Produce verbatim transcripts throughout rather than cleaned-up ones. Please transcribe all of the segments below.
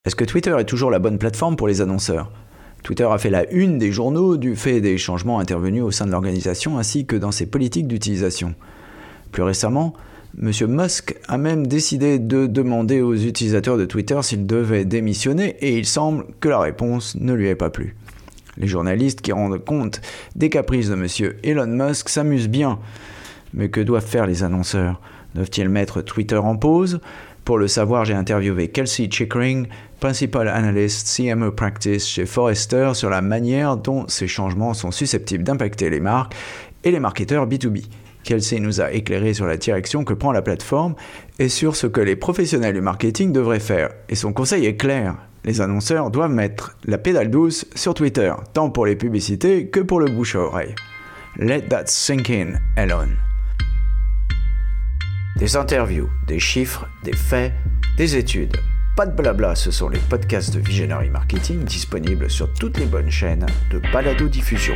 Est-ce que Twitter est toujours la bonne plateforme pour les annonceurs ? Twitter a fait la une des journaux du fait des changements intervenus au sein de l'organisation ainsi que dans ses politiques d'utilisation. Plus récemment, M. Musk a même décidé de demander aux utilisateurs de Twitter s'ils devaient démissionner et il semble que la réponse ne lui ait pas plu. Les journalistes qui rendent compte des caprices de M. Elon Musk s'amusent bien. Mais que doivent faire les annonceurs ? Doivent-ils mettre Twitter en pause ? Pour le savoir, j'ai interviewé Kelsey Chickering, Principal Analyst C M O Practice chez Forrester, sur la manière dont ces changements sont susceptibles d'impacter les marques et les marketeurs B deux B. Kelsey nous a éclairé sur la direction que prend la plateforme et sur ce que les professionnels du marketing devraient faire. Et son conseil est clair. Les annonceurs doivent mettre la pédale douce sur Twitter, tant pour les publicités que pour le bouche à oreille. Let that sink in, Elon. Des interviews, des chiffres, des faits, des études. Pas de blabla, ce sont les podcasts de Visionary Marketing disponibles sur toutes les bonnes chaînes de balado-diffusion.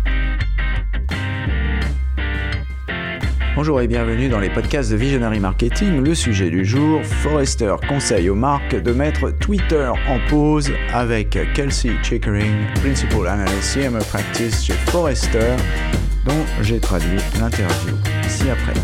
Bonjour et bienvenue dans les podcasts de Visionary Marketing. Le sujet du jour, Forrester conseille aux marques de mettre Twitter en pause avec Kelsey Chickering, Principal Analyst C M O Practice chez Forrester, dont j'ai traduit l'interview ci-après.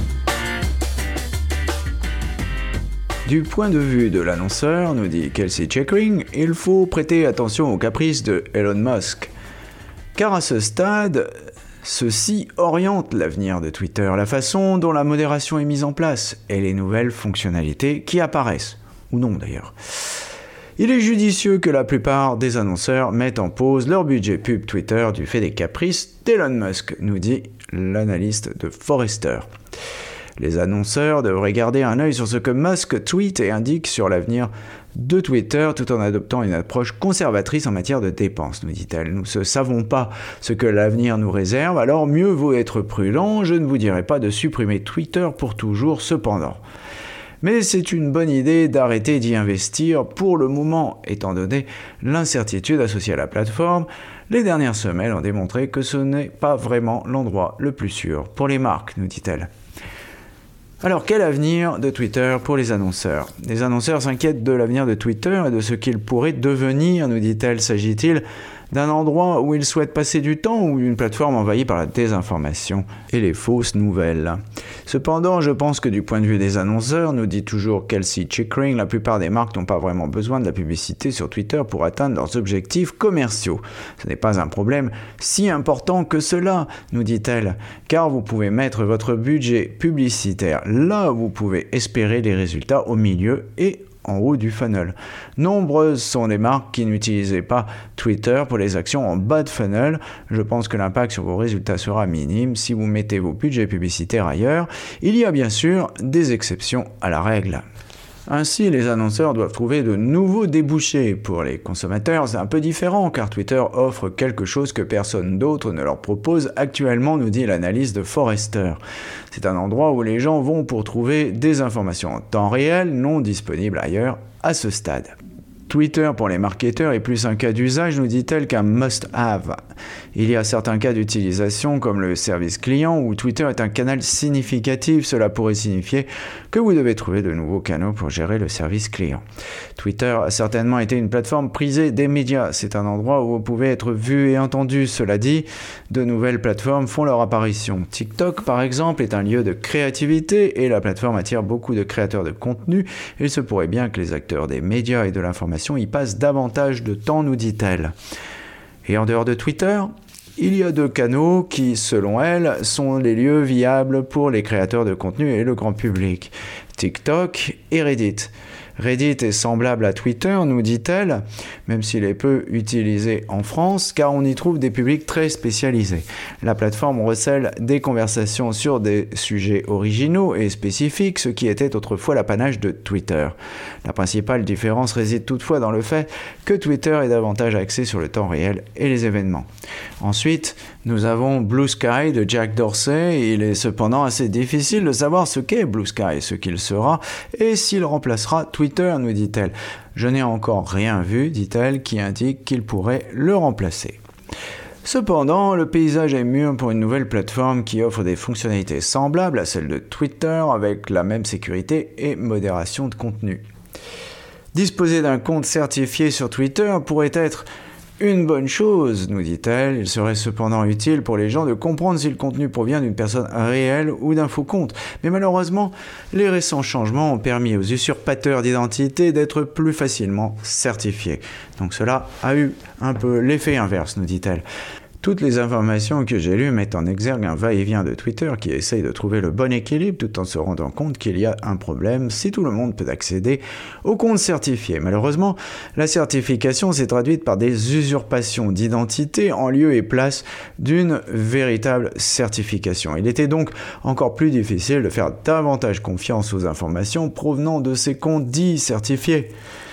Du point de vue de l'annonceur, nous dit Kelsey Chickering, il faut prêter attention aux caprices de Elon Musk. Car à ce stade, ceci oriente l'avenir de Twitter, la façon dont la modération est mise en place et les nouvelles fonctionnalités qui apparaissent, ou non d'ailleurs. Il est judicieux que la plupart des annonceurs mettent en pause leur budget pub Twitter du fait des caprices d'Elon Musk, nous dit l'analyste de Forrester. Les annonceurs devraient garder un œil sur ce que Musk tweet et indique sur l'avenir de Twitter tout en adoptant une approche conservatrice en matière de dépenses, nous dit-elle. Nous ne savons pas ce que l'avenir nous réserve, alors mieux vaut être prudent. Je ne vous dirai pas de supprimer Twitter pour toujours cependant. Mais c'est une bonne idée d'arrêter d'y investir pour le moment, étant donné l'incertitude associée à la plateforme. Les dernières semaines ont démontré que ce n'est pas vraiment l'endroit le plus sûr pour les marques, nous dit-elle. Alors, quel avenir de Twitter pour les annonceurs ? Les annonceurs s'inquiètent de l'avenir de Twitter et de ce qu'il pourrait devenir, nous dit-elle. S'agit-il d'un endroit où ils souhaitent passer du temps ou d'une plateforme envahie par la désinformation et les fausses nouvelles ? Cependant, je pense que du point de vue des annonceurs, nous dit toujours Kelsey Chickering, la plupart des marques n'ont pas vraiment besoin de la publicité sur Twitter pour atteindre leurs objectifs commerciaux. Ce n'est pas un problème si important que cela, nous dit-elle, car vous pouvez mettre votre budget publicitaire là où vous pouvez espérer les résultats au milieu et en haut du funnel. Nombreuses sont les marques qui n'utilisaient pas Twitter pour les actions en bas de funnel. Je pense que l'impact sur vos résultats sera minime si vous mettez vos budgets publicitaires ailleurs. Il y a bien sûr des exceptions à la règle. Ainsi, les annonceurs doivent trouver de nouveaux débouchés. Pour les consommateurs, c'est un peu différent car Twitter offre quelque chose que personne d'autre ne leur propose actuellement, nous dit l'analyse de Forrester. C'est un endroit où les gens vont pour trouver des informations en temps réel, non disponibles ailleurs à ce stade. Twitter pour les marketeurs est plus un cas d'usage, nous dit-elle, qu'un must-have. Il y a certains cas d'utilisation comme le service client où Twitter est un canal significatif. Cela pourrait signifier que vous devez trouver de nouveaux canaux pour gérer le service client. Twitter a certainement été une plateforme prisée des médias. C'est un endroit où vous pouvez être vu et entendu. Cela dit, de nouvelles plateformes font leur apparition. TikTok, par exemple, est un lieu de créativité et la plateforme attire beaucoup de créateurs de contenu. Il se pourrait bien que les acteurs des médias et de l'information y passe davantage de temps, nous dit-elle. Et en dehors de Twitter, il y a deux canaux qui, selon elle, sont les lieux viables pour les créateurs de contenu et le grand public. TikTok et Reddit. Reddit est semblable à Twitter, nous dit-elle, même s'il est peu utilisé en France, car on y trouve des publics très spécialisés. La plateforme recèle des conversations sur des sujets originaux et spécifiques, ce qui était autrefois l'apanage de Twitter. La principale différence réside toutefois dans le fait que Twitter est davantage axé sur le temps réel et les événements. Ensuite, nous avons Blue Sky de Jack Dorsey. Il est cependant assez difficile de savoir ce qu'est Blue Sky, ce qu'il sera et s'il remplacera Twitter, nous dit-elle. Je n'ai encore rien vu, dit-elle, qui indique qu'il pourrait le remplacer. Cependant, le paysage est mûr pour une nouvelle plateforme qui offre des fonctionnalités semblables à celles de Twitter avec la même sécurité et modération de contenu. Disposer d'un compte certifié sur Twitter pourrait être une bonne chose, nous dit-elle. Il serait cependant utile pour les gens de comprendre si le contenu provient d'une personne réelle ou d'un faux compte. Mais malheureusement, les récents changements ont permis aux usurpateurs d'identité d'être plus facilement certifiés. Donc cela a eu un peu l'effet inverse, nous dit-elle. Toutes les informations que j'ai lues mettent en exergue un va-et-vient de Twitter qui essaye de trouver le bon équilibre tout en se rendant compte qu'il y a un problème si tout le monde peut accéder au compte certifié. Malheureusement, la certification s'est traduite par des usurpations d'identité en lieu et place d'une véritable certification. Il était donc encore plus difficile de faire davantage confiance aux informations provenant de ces comptes dits certifiés.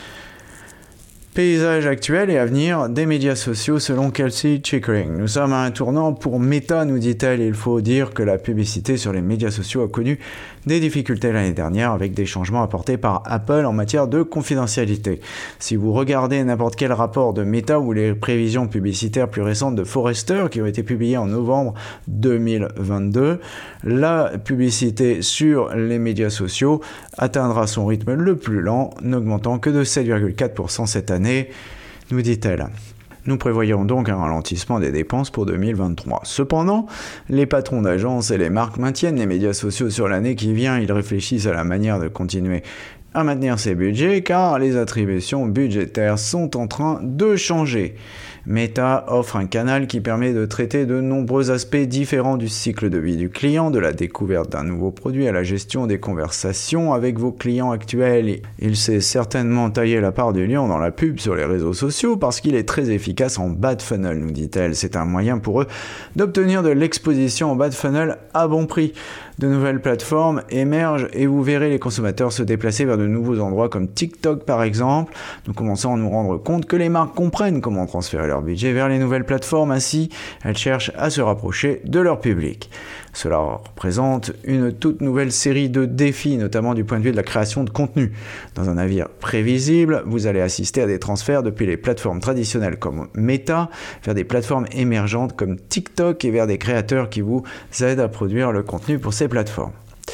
Paysage actuel et avenir des médias sociaux selon Kelsey Chickering. Nous sommes à un tournant pour Meta, nous dit-elle. Il faut dire que la publicité sur les médias sociaux a connu des difficultés l'année dernière avec des changements apportés par Apple en matière de confidentialité. Si vous regardez n'importe quel rapport de Meta ou les prévisions publicitaires plus récentes de Forrester qui ont été publiées en novembre deux mille vingt-deux, la publicité sur les médias sociaux atteindra son rythme le plus lent, n'augmentant que de sept virgule quatre pour cent cette année, nous dit-elle. Nous prévoyons donc un ralentissement des dépenses pour deux mille vingt-trois. Cependant, les patrons d'agences et les marques maintiennent les médias sociaux sur l'année qui vient. Ils réfléchissent à la manière de continuer à maintenir ces budgets car les attributions budgétaires sont en train de changer. Meta offre un canal qui permet de traiter de nombreux aspects différents du cycle de vie du client, de la découverte d'un nouveau produit à la gestion des conversations avec vos clients actuels. Il sait certainement tailler la part du lion dans la pub sur les réseaux sociaux parce qu'il est très efficace en bas de funnel, nous dit-elle. C'est un moyen pour eux d'obtenir de l'exposition en bas de funnel à bon prix. De nouvelles plateformes émergent et vous verrez les consommateurs se déplacer vers de nouveaux endroits comme TikTok par exemple. Nous commençons à nous rendre compte que les marques comprennent comment transférer leur budget vers les nouvelles plateformes, ainsi elles cherchent à se rapprocher de leur public. Cela représente une toute nouvelle série de défis, notamment du point de vue de la création de contenu. Dans un navire prévisible, vous allez assister à des transferts depuis les plateformes traditionnelles comme Meta vers des plateformes émergentes comme TikTok et vers des créateurs qui vous aident à produire le contenu pour ces plateformes.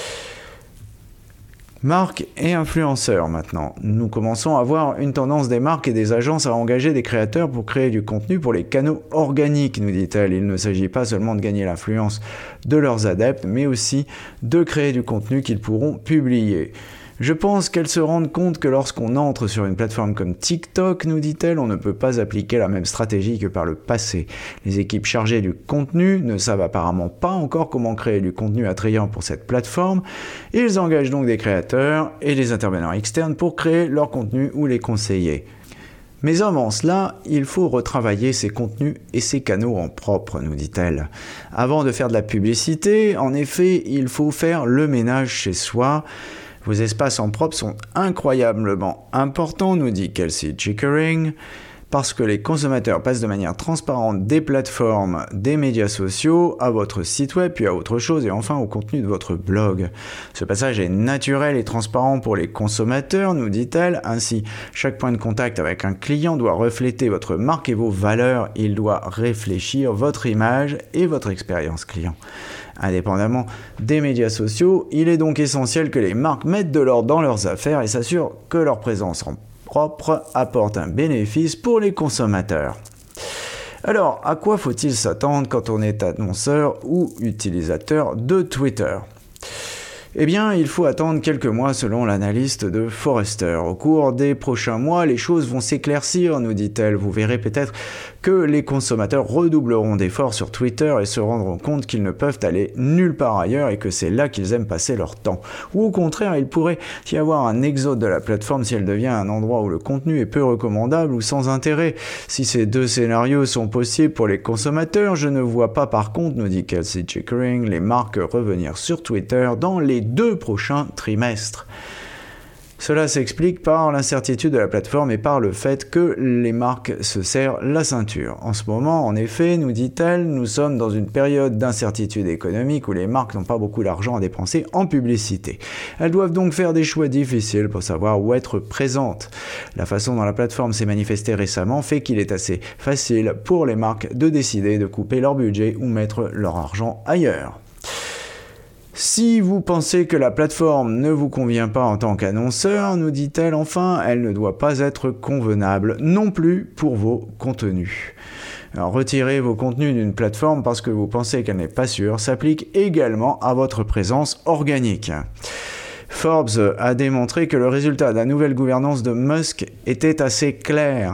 Marques et influenceurs maintenant. Nous commençons à voir une tendance des marques et des agences à engager des créateurs pour créer du contenu pour les canaux organiques, nous dit-elle. Il ne s'agit pas seulement de gagner l'influence de leurs adeptes, mais aussi de créer du contenu qu'ils pourront publier. Je pense qu'elles se rendent compte que lorsqu'on entre sur une plateforme comme TikTok, nous dit-elle, on ne peut pas appliquer la même stratégie que par le passé. Les équipes chargées du contenu ne savent apparemment pas encore comment créer du contenu attrayant pour cette plateforme. Ils engagent donc des créateurs et des intervenants externes pour créer leur contenu ou les conseiller. Mais avant cela, il faut retravailler ces contenus et ces canaux en propre, nous dit-elle. Avant de faire de la publicité, en effet, il faut faire le ménage chez soi. Vos espaces en propre sont incroyablement importants, nous dit Kelsey Chickering, parce que les consommateurs passent de manière transparente des plateformes, des médias sociaux, à votre site web, puis à autre chose, et enfin au contenu de votre blog. Ce passage est naturel et transparent pour les consommateurs, nous dit-elle. Ainsi, chaque point de contact avec un client doit refléter votre marque et vos valeurs. Il doit réfléchir votre image et votre expérience client. Indépendamment des médias sociaux, il est donc essentiel que les marques mettent de l'ordre dans leurs affaires et s'assurent que leur présence en propre apporte un bénéfice pour les consommateurs. Alors, à quoi faut-il s'attendre quand on est annonceur ou utilisateur de Twitter ? Eh bien, il faut attendre quelques mois selon l'analyste de Forrester. Au cours des prochains mois, les choses vont s'éclaircir, nous dit-elle. Vous verrez peut-être que les consommateurs redoubleront d'efforts sur Twitter et se rendront compte qu'ils ne peuvent aller nulle part ailleurs et que c'est là qu'ils aiment passer leur temps. Ou au contraire, il pourrait y avoir un exode de la plateforme si elle devient un endroit où le contenu est peu recommandable ou sans intérêt. Si ces deux scénarios sont possibles pour les consommateurs, je ne vois pas par contre, nous dit Kelsey Chickering, les marques revenir sur Twitter dans les deux prochains trimestres. Cela s'explique par l'incertitude de la plateforme et par le fait que les marques se serrent la ceinture. En ce moment, en effet, nous dit-elle, nous sommes dans une période d'incertitude économique où les marques n'ont pas beaucoup d'argent à dépenser en publicité. Elles doivent donc faire des choix difficiles pour savoir où être présentes. La façon dont la plateforme s'est manifestée récemment fait qu'il est assez facile pour les marques de décider de couper leur budget ou mettre leur argent ailleurs. Si vous pensez que la plateforme ne vous convient pas en tant qu'annonceur, nous dit-elle enfin, elle ne doit pas être convenable non plus pour vos contenus. Alors, retirer vos contenus d'une plateforme parce que vous pensez qu'elle n'est pas sûre s'applique également à votre présence organique. Forbes a démontré que le résultat de la nouvelle gouvernance de Musk était assez clair.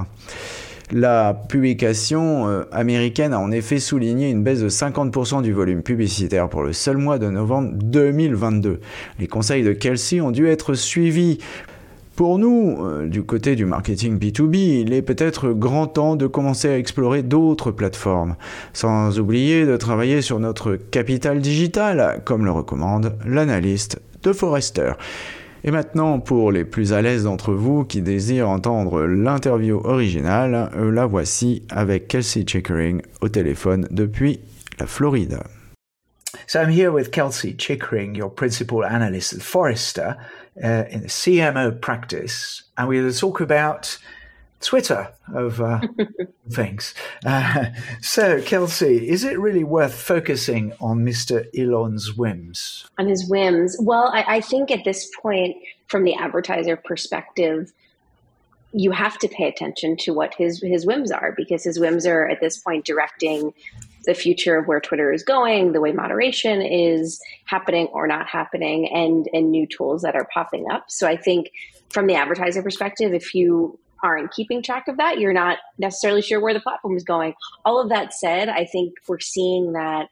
La publication euh, américaine a en effet souligné une baisse de cinquante pour cent du volume publicitaire pour le seul mois de novembre deux mille vingt-deux. Les conseils de Kelsey ont dû être suivis. Pour nous, euh, du côté du marketing B deux B, il est peut-être grand temps de commencer à explorer d'autres plateformes, sans oublier de travailler sur notre capital digital, comme le recommande l'analyste de Forrester. Et maintenant, pour les plus à l'aise d'entre vous qui désirent entendre l'interview originale, la voici avec Kelsey Chickering au téléphone depuis la Floride. So I'm here with Kelsey Chickering, your principal analyst at Forrester uh, in the C M O practice, and we're going to talk about Twitter of uh, things. Uh, so, Kelsey, is it really worth focusing on Mister Elon's whims? On his whims? Well, I, I think at this point, from the advertiser perspective, you have to pay attention to what his, his whims are, because his whims are at this point directing the future of where Twitter is going, the way moderation is happening or not happening, and, and new tools that are popping up. So I think from the advertiser perspective, if you aren't keeping track of that, you're not necessarily sure where the platform is going. All of that said, I think we're seeing that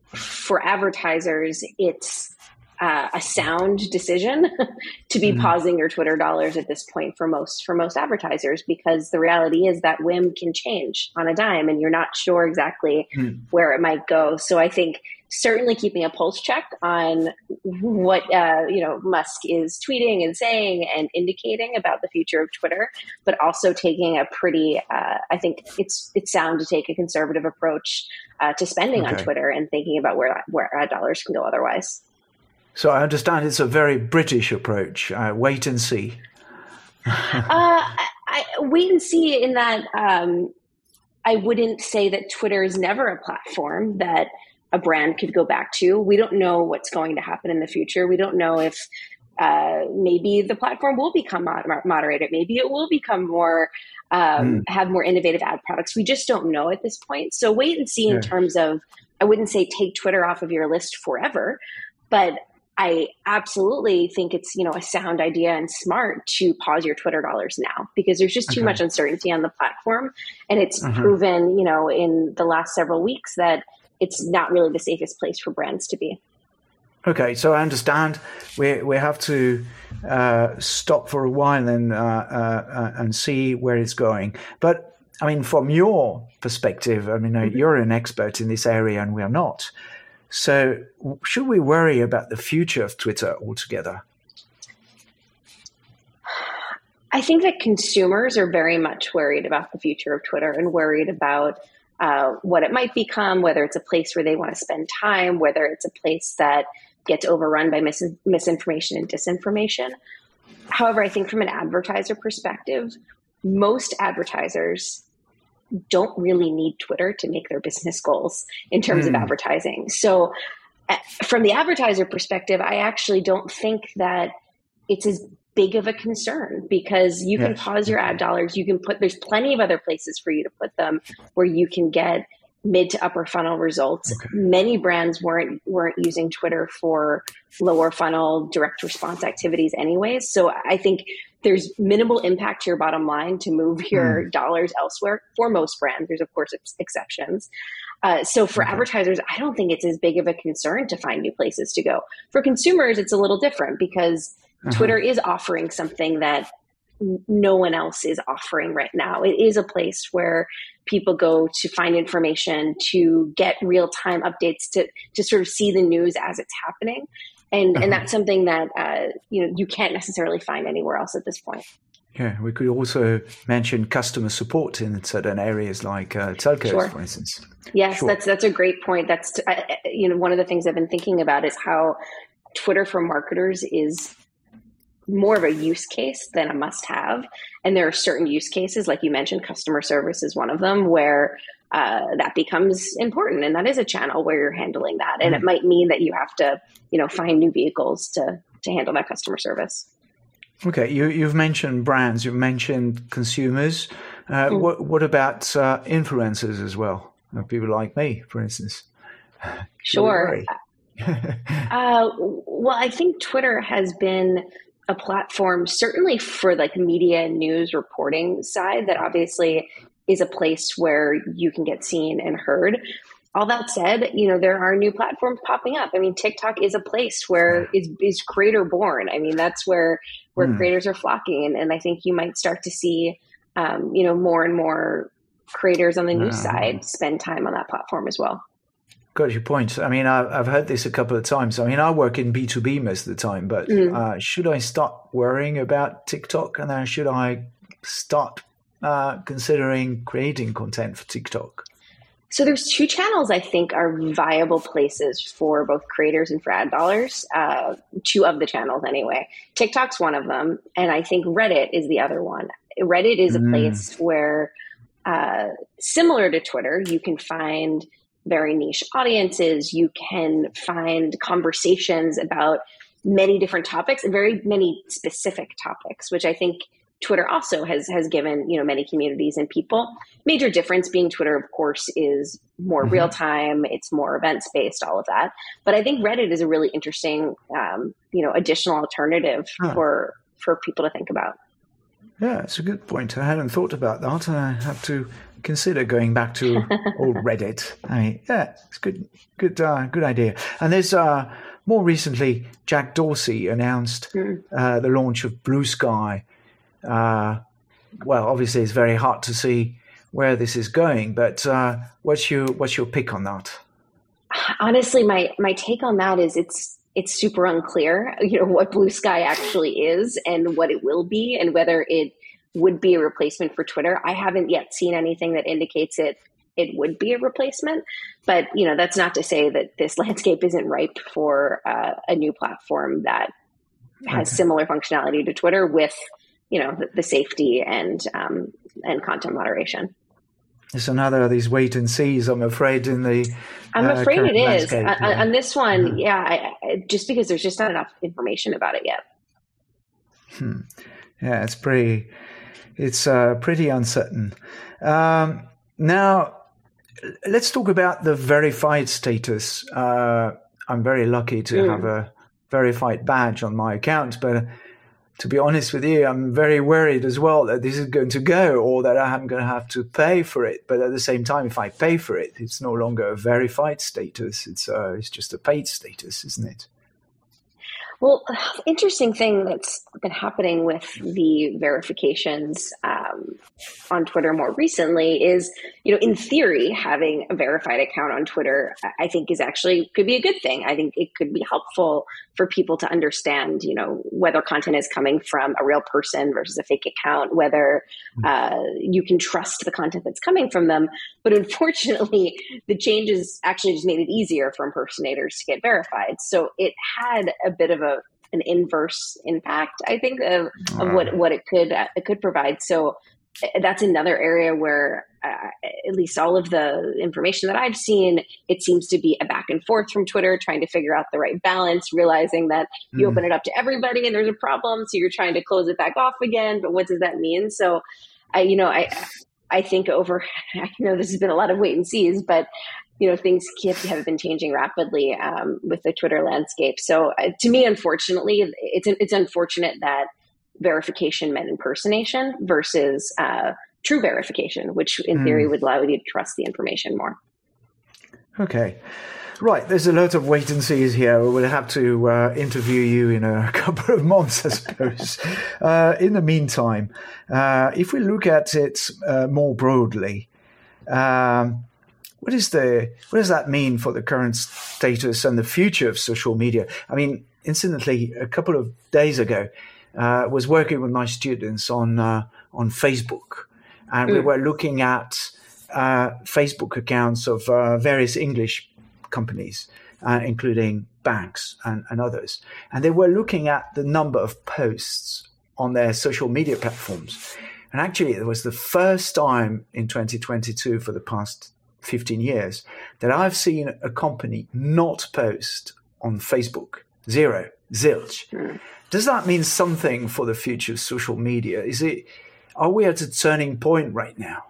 for advertisers, it's uh, a sound decision to be mm-hmm. pausing your Twitter dollars at this point for most for most advertisers, because the reality is that whim can change on a dime and you're not sure exactly mm. where it might go. So I think certainly keeping a pulse check on what uh, you know Musk is tweeting and saying and indicating about the future of Twitter, but also taking a pretty, uh, I think it's it's sound to take a conservative approach uh, to spending okay. on Twitter and thinking about where where our dollars can go otherwise. So I understand it's a very British approach. Uh, wait and see. uh, I, I, wait and see in that um, I wouldn't say that Twitter is never a platform that a brand could go back to. We don't know what's going to happen in the future. We don't know if uh, maybe the platform will become mod- moderated. Maybe it will become more, um, mm. have more innovative ad products. We just don't know at this point. So wait and see in yeah. terms of, I wouldn't say take Twitter off of your list forever, but I absolutely think it's, you know, a sound idea and smart to pause your Twitter dollars now, because there's just too okay. much uncertainty on the platform. And it's uh-huh. proven, you know, in the last several weeks that it's not really the safest place for brands to be. Okay, so I understand we we have to uh, stop for a while and uh, uh, and see where it's going. But I mean, from your perspective, I mean, mm-hmm. you're an expert in this area and we are not. So should we worry about the future of Twitter altogether? I think that consumers are very much worried about the future of Twitter and worried about uh, what it might become, whether it's a place where they want to spend time, whether it's a place that gets overrun by mis- misinformation and disinformation. However, I think from an advertiser perspective, most advertisers don't really need Twitter to make their business goals in terms mm. of advertising. So uh, from the advertiser perspective, I actually don't think that it's as big of a concern, because you yes. can pause your ad dollars. You can put, there's plenty of other places for you to put them where you can get mid to upper funnel results. Okay. Many brands weren't weren't using Twitter for lower funnel direct response activities anyways. So I think there's minimal impact to your bottom line to move your mm. dollars elsewhere for most brands. There's of course ex- exceptions. Uh, so for okay. advertisers, I don't think it's as big of a concern to find new places to go. For consumers, it's a little different, because uh-huh. Twitter is offering something that no one else is offering right now. It is a place where people go to find information, to get real-time updates, to to sort of see the news as it's happening. And uh-huh. and that's something that uh, you know you can't necessarily find anywhere else at this point. Yeah, we could also mention customer support in certain areas like uh, telcos, sure. for instance. Yes, sure. that's that's a great point. That's uh, you know one of the things I've been thinking about is how Twitter for marketers is more of a use case than a must-have. And there are certain use cases, like you mentioned, customer service is one of them, where uh, that becomes important. And that is a channel where you're handling that. And it might mean that you have to, you know, find new vehicles to to handle that customer service. Okay, you, you've mentioned brands, you've mentioned consumers. Uh, mm. What what about uh, influencers as well? Uh, people like me, for instance. Sure. uh, well, I think Twitter has been a platform, certainly for like media and news reporting side, that obviously is a place where you can get seen and heard. All that said, you know, there are new platforms popping up. I mean, TikTok is a place where is is creator born. I mean, that's where where mm. creators are flocking, and, and I think you might start to see, um, you know, more and more creators on the news uh, side spend time on that platform as well. Got your point. I mean, I've, I've heard this a couple of times. I mean, I work in B two B most of the time, but mm. uh, should I start worrying about TikTok, and then should I start uh, considering creating content for TikTok? So there's two channels I think are viable places for both creators and for ad dollars, uh, two of the channels anyway. TikTok's one of them, and I think Reddit is the other one. Reddit is a mm. place where, uh, similar to Twitter, you can find very niche audiences. You can find conversations about many different topics and very many specific topics, which I think Twitter also has has given, you know, many communities and people. Major difference being Twitter, of course, is more mm-hmm. real time. It's more events based, all of that. But I think Reddit is a really interesting, um, you know, additional alternative huh. for for people to think about. Yeah, it's a good point. I hadn't thought about that. I have to consider going back to old Reddit. I mean, yeah, it's good, good, uh, good idea. And there's uh, more recently, Jack Dorsey announced mm. uh, the launch of Blue Sky. Uh, well, obviously, it's very hard to see where this is going, but uh, what's your what's your pick on that? Honestly, my my take on that is it's it's super unclear, you know, what Blue Sky actually is and what it will be, and whether it would be a replacement for Twitter. I haven't yet seen anything that indicates it it would be a replacement, but you know, that's not to say that this landscape isn't ripe for uh, a new platform that has okay. similar functionality to Twitter with, you know, the, the safety and um, and content moderation. It's another of these wait and sees, I'm afraid, in the I'm uh, afraid it is. Yeah. On, on this one, mm-hmm. yeah, I, I, just because there's just not enough information about it yet. Hmm. Yeah, it's pretty, it's uh, pretty uncertain. Um, now, let's talk about the verified status. Uh, I'm very lucky to mm. have a verified badge on my account, but to be honest with you, I'm very worried as well that this is going to go, or that I'm going to have to pay for it. But at the same time, if I pay for it, it's no longer a verified status. It's uh, it's just a paid status, isn't it? Well, interesting thing that's been happening with the verifications um, on Twitter more recently is, you know, in theory, having a verified account on Twitter, I think is actually could be a good thing. I think it could be helpful for people to understand, you know, whether content is coming from a real person versus a fake account, whether uh, you can trust the content that's coming from them. But unfortunately, the changes actually just made it easier for impersonators to get verified. So it had a bit of a an inverse impact, I think, of, of what, what it could it could provide. So that's another area where, uh, at least all of the information that I've seen, it seems to be a back and forth from Twitter, trying to figure out the right balance, realizing that you mm. open it up to everybody and there's a problem, so you're trying to close it back off again. But what does that mean? So, I, you know, I I think over, I know this has been a lot of wait and sees, but you know, things have been changing rapidly um, with the Twitter landscape. So uh, to me, unfortunately, it's it's unfortunate that verification meant impersonation versus uh, true verification, which in mm. theory would allow you to trust the information more. Okay. Right, there's a lot of wait and sees here. We'll have to uh, interview you in a couple of months, I suppose. uh, in the meantime, uh, if we look at it uh, more broadly, um, what is the what does that mean for the current status and the future of social media? I mean, incidentally, a couple of days ago, I uh, was working with my students on uh, on Facebook, and mm. we were looking at uh, Facebook accounts of uh, various English companies, uh, including banks and, and others. And they were looking at the number of posts on their social media platforms. And actually, it was the first time in twenty twenty-two for the past fifteen years that I've seen a company not post on Facebook. Zero, zilch. Mm. Does that mean something for the future of social media? Is it, are we at a turning point right now?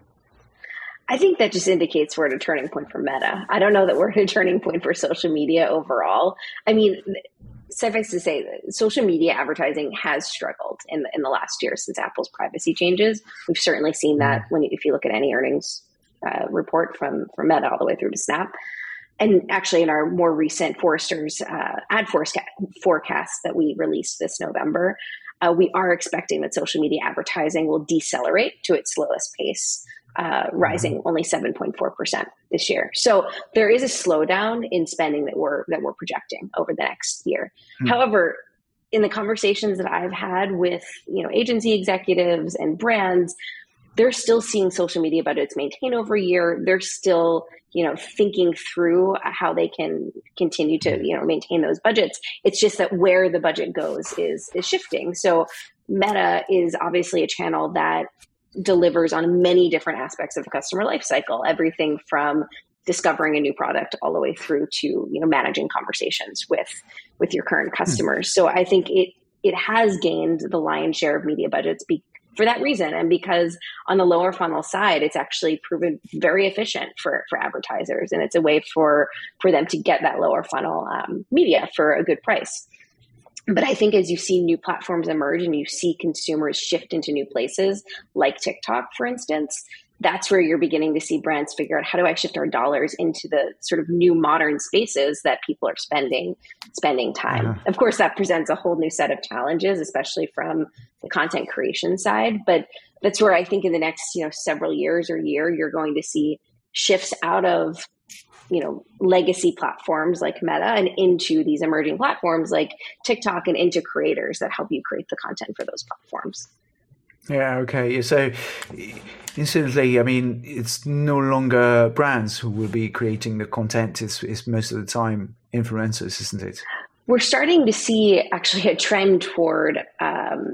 I think that just indicates we're at a turning point for Meta. I don't know that we're at a turning point for social media overall. I mean, suffice to say that social media advertising has struggled in the, in the last year since Apple's privacy changes. We've certainly seen that when if you look at any earnings uh, report from, from Meta all the way through to Snap. And actually in our more recent Forrester's uh, ad forecast that we released this November, uh, we are expecting that social media advertising will decelerate to its slowest pace, uh, rising only seven point four percent this year. So there is a slowdown in spending that we're that we're projecting over the next year. Mm-hmm. However, in the conversations that I've had with you know agency executives and brands, they're still seeing social media budgets maintain over a year. They're still you know thinking through how they can continue to you know maintain those budgets. It's just that where the budget goes is is shifting. So Meta is obviously a channel that delivers on many different aspects of the customer life cycle, everything from discovering a new product all the way through to you know managing conversations with with your current customers. So I think it it has gained the lion's share of media budgets be, for that reason, and because on the lower funnel side, it's actually proven very efficient for for advertisers, and it's a way for for them to get that lower funnel um, media for a good price. But I think as you see new platforms emerge and you see consumers shift into new places, like TikTok, for instance, that's where you're beginning to see brands figure out, how do I shift our dollars into the sort of new modern spaces that people are spending spending time? Uh-huh. Of course, that presents a whole new set of challenges, especially from the content creation side. But that's where I think in the next you know several years or year, you're going to see shifts out of you know, legacy platforms like Meta and into these emerging platforms like TikTok and into creators that help you create the content for those platforms. Yeah, okay. So instantly, I mean, it's no longer brands who will be creating the content. It's, it's most of the time influencers, isn't it? We're starting to see actually a trend toward um,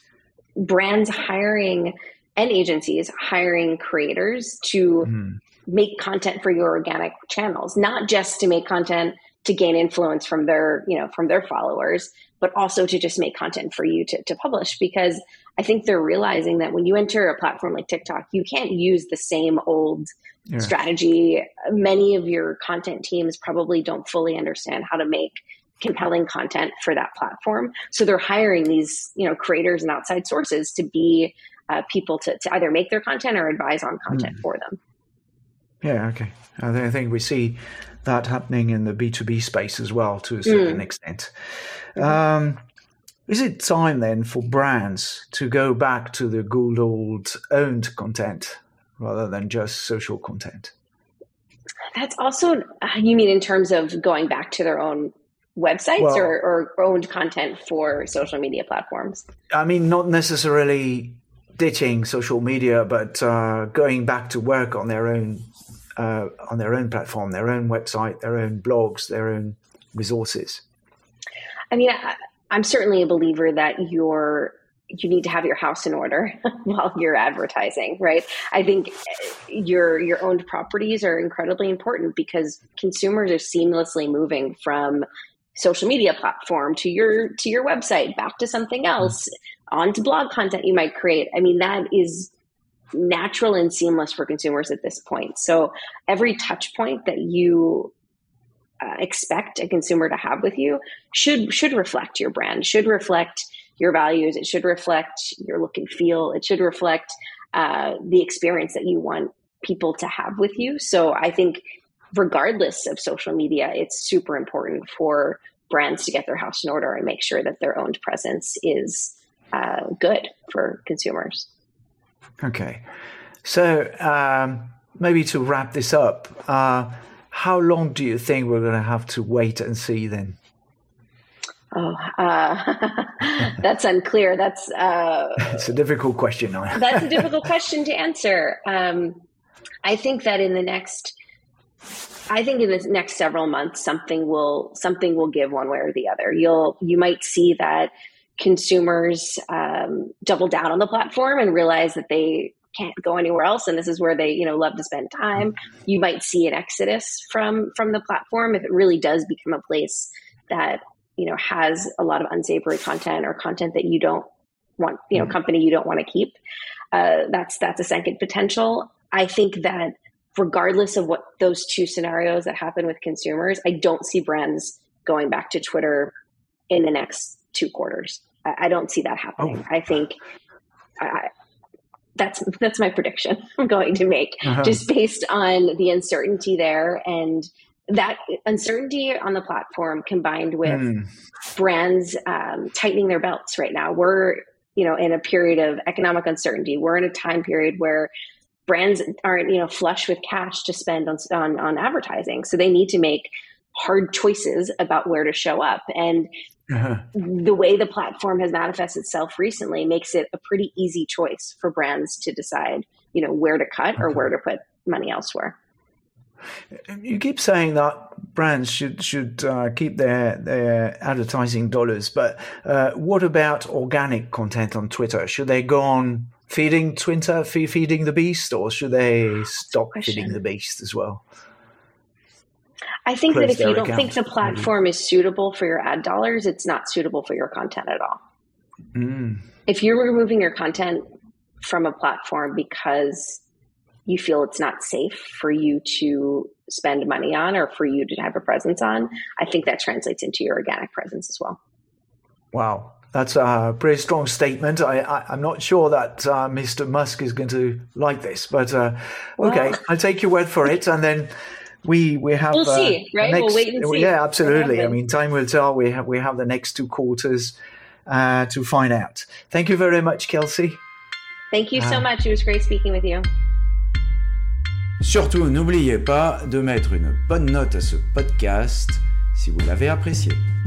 brands hiring and agencies hiring creators to mm. make content for your organic channels, not just to make content to gain influence from their, you know, from their followers, but also to just make content for you to, to publish. Because I think they're realizing that when you enter a platform like TikTok, you can't use the same old yeah. strategy. Many of your content teams probably don't fully understand how to make compelling content for that platform. So they're hiring these, you know, creators and outside sources to be uh, people to, to either make their content or advise on content mm. for them. Yeah, okay. I think we see that happening in the B two B space as well to a certain mm. extent. Um, is it time then for brands to go back to the good old owned content rather than just social content? That's also, you mean in terms of going back to their own websites well, or, or owned content for social media platforms? I mean, not necessarily ditching social media, but uh, going back to work on their own uh, on their own platform, their own website, their own blogs, their own resources. I mean, I, I'm certainly a believer that you're you need to have your house in order while you're advertising, right? I think your your owned properties are incredibly important because consumers are seamlessly moving from social media platform to your to your website, back to something else, onto blog content you might create. I mean, that is natural and seamless for consumers at this point. So every touch point that you uh, expect a consumer to have with you should should reflect your brand, should reflect your values. It should reflect your look and feel. It should reflect uh, the experience that you want people to have with you. So I think regardless of social media, it's super important for brands to get their house in order and make sure that their owned presence is uh, good for consumers. Okay. So um, maybe to wrap this up, uh, how long do you think we're going to have to wait and see then? Oh, uh, that's unclear. That's uh, it's a difficult question. That's a difficult question to answer. Um, I think that in the next I think in the next several months, something will something will give one way or the other. You'll you might see that consumers um, double down on the platform and realize that they can't go anywhere else, and this is where they you know love to spend time. You might see an exodus from from the platform if it really does become a place that you know has a lot of unsavory content or content that you don't want, you know, company you don't want to keep. Uh, that's that's a second potential. I think that regardless of what those two scenarios that happen with consumers, I don't see brands going back to Twitter in the next two quarters. I, I don't see that happening. Oh. I think I, that's that's my prediction I'm going to make, uh-huh. just based on the uncertainty there, and that uncertainty on the platform combined with mm. brands um, tightening their belts right now. We're you know in a period of economic uncertainty. We're in a time period where brands aren't, you know, flush with cash to spend on, on, on advertising. So they need to make hard choices about where to show up. And uh-huh. the way the platform has manifested itself recently makes it a pretty easy choice for brands to decide, you know, where to cut or okay. where to put money elsewhere. You keep saying that brands should should uh, keep their their advertising dollars, but uh, what about organic content on Twitter? Should they go on feeding Twitter, feed, feeding the beast, or should they stop feeding the beast as well? I think Close that if you don't account, think the platform maybe. is suitable for your ad dollars, it's not suitable for your content at all. Mm. If you're removing your content from a platform because you feel it's not safe for you to spend money on or for you to have a presence on, I think that translates into your organic presence as well. Wow. That's a pretty strong statement. I, I, I'm not sure that uh, Mister Musk is going to like this, but uh, okay, well, I'll take your word for it. And then we we have we'll uh, see, right? Next, we'll wait and see. Yeah, absolutely. I mean, time will tell. We have we have the next two quarters uh, to find out. Thank you very much, Kelsey. Thank you so uh, much. It was great speaking with you. Surtout, n'oubliez pas de mettre une bonne note à ce podcast si vous l'avez apprécié.